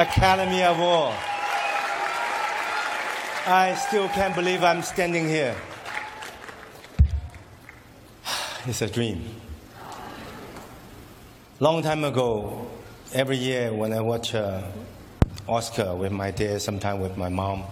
Academy Award. I still can't believe I'm standing here. It's a dream. Long time ago, every year when I watch Oscar with my dad, sometimes with my mom,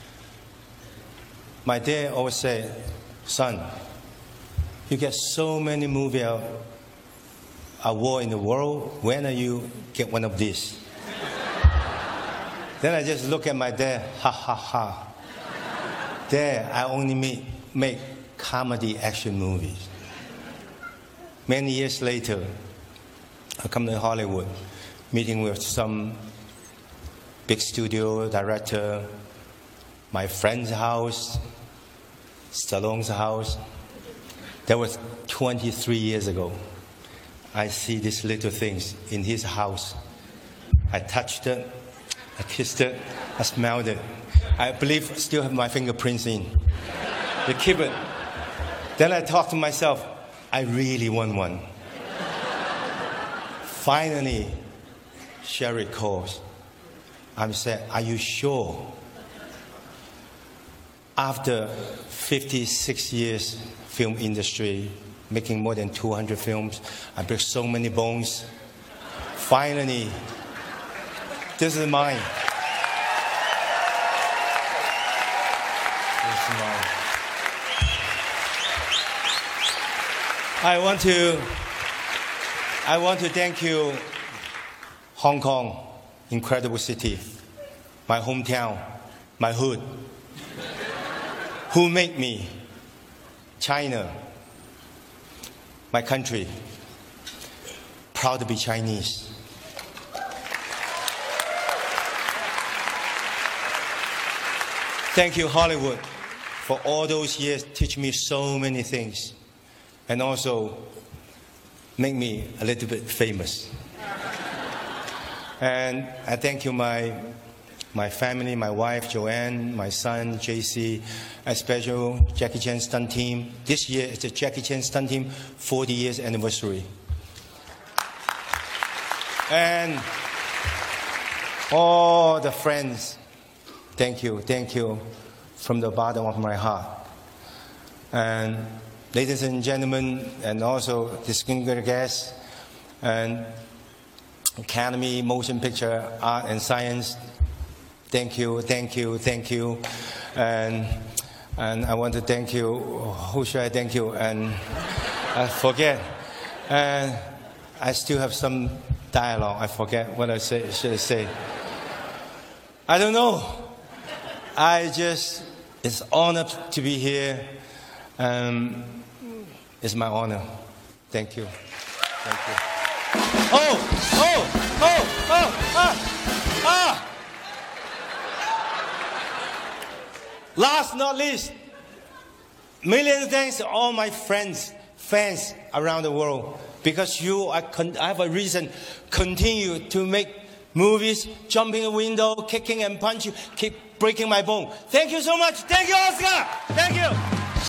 my dad always said, "Son, you get so many movie awards in the world. When are you get one of these?" Then I just look at my dad, ha ha ha. Dad, I only make comedy action movies. Many years later, I come to Hollywood, meeting with some big studio director, my friend's house, Stallone's house. That was 23 years ago. I see these little things in his house. I touched it, I kissed it, I smelled it. I believe I still have my fingerprints in. They keep it. Then I thought to myself, I really want one. Finally, Sherry calls. I said, "Are you sure?" After 56 years film industry, making more than 200 films, I break so many bones. Finally, this is mine. This is mine. I want to thank you, Hong Kong, incredible city, my hometown, my hood, who made me, China, my country, proud to be Chinese. Thank you, Hollywood, for all those years, teach me so many things, and also make me a little bit famous. And I thank you, my family, my wife, Joanne, my son, JC, a special Jackie Chan stunt team. This year is the Jackie Chan stunt team 40 years anniversary. And all the friends, thank you from the bottom of my heart. And ladies and gentlemen, and also distinguished guests, and Academy Motion Picture Art and Science, thank you. And I want to thank you. Who should I thank you? And I forget. And I still have some dialogue. I forget what should I say. I don't know. It's honored to be here. It's my honor. Thank you. Last not least, million thanks to all my fans around the world. Because you, I have a reason continue to make movies, jumping a window, kicking and punching, keep breaking my bone. Thank you so much. Thank you, Oscar. Thank you.